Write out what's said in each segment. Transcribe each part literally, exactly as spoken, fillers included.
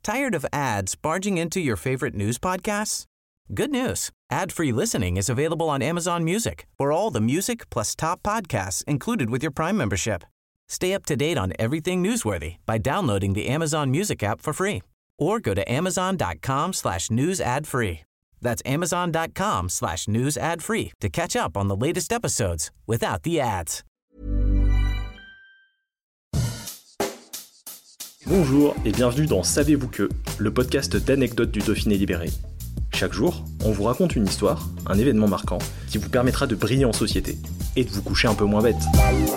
Tired of ads barging into your favorite news podcasts? Good news. Ad-free listening is available on Amazon Music for all the music plus top podcasts included with your Prime membership. Stay up to date on everything newsworthy by downloading the Amazon Music app for free or go to amazon.com slash news ad free. That's amazon.com slash news ad free to catch up on the latest episodes without the ads. Bonjour et bienvenue dans Savez-vous que, le podcast d'anecdotes du Dauphiné libéré. Chaque jour, on vous raconte une histoire, un événement marquant, qui vous permettra de briller en société et de vous coucher un peu moins bête.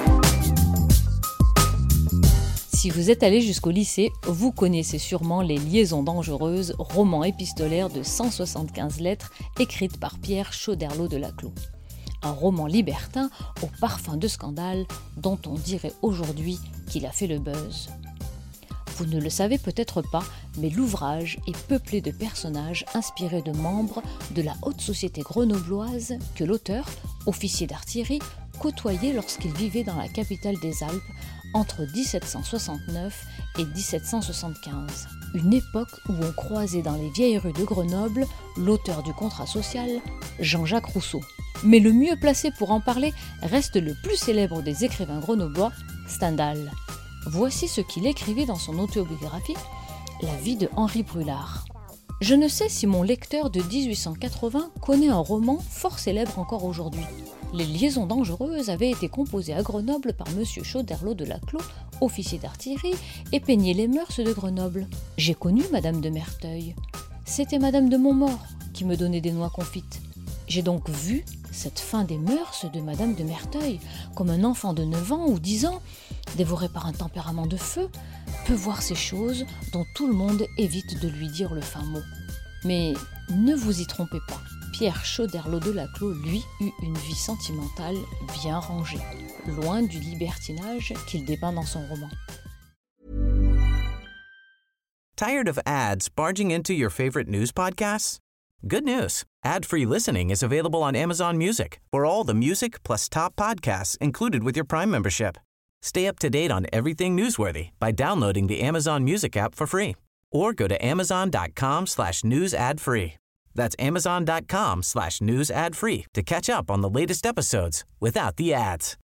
Si vous êtes allé jusqu'au lycée, vous connaissez sûrement Les Liaisons dangereuses, roman épistolaire de cent soixante-quinze lettres écrite par Pierre Choderlos de Laclos. Un roman libertin au parfum de scandale dont on dirait aujourd'hui qu'il a fait le buzz. Vous ne le savez peut-être pas, mais l'ouvrage est peuplé de personnages inspirés de membres de la haute société grenobloise que l'auteur, officier d'artillerie, côtoyait lorsqu'il vivait dans la capitale des Alpes entre dix-sept cent soixante-neuf et dix-sept cent soixante-quinze. Une époque où on croisait dans les vieilles rues de Grenoble l'auteur du contrat social, Jean-Jacques Rousseau. Mais le mieux placé pour en parler reste le plus célèbre des écrivains grenoblois, Stendhal. Voici ce qu'il écrivait dans son autobiographie, La vie de Henri Brulard. Je ne sais si mon lecteur de dix-huit cent quatre-vingts connaît un roman fort célèbre encore aujourd'hui. Les Liaisons dangereuses avaient été composées à Grenoble par M. Choderlos de Laclos, officier d'artillerie, et peignait les mœurs de Grenoble. J'ai connu Madame de Merteuil. C'était Madame de Montmort qui me donnait des noix confites. J'ai donc vu cette fin des mœurs de Madame de Merteuil, comme un enfant de neuf ans ou dix ans, dévoré par un tempérament de feu, peut voir ces choses dont tout le monde évite de lui dire le fin mot. Mais ne vous y trompez pas, Pierre Choderlos de Laclos, lui, eut une vie sentimentale bien rangée, loin du libertinage qu'il dépeint dans son roman. Tired of ads barging into your favorite news podcasts? Good news. Ad-free listening is available on Amazon Music for all the music plus top podcasts included with your Prime membership. Stay up to date on everything newsworthy by downloading the Amazon Music app for free or go to amazon.com slash news ad free. That's amazon.com slash news ad free to catch up on the latest episodes without the ads.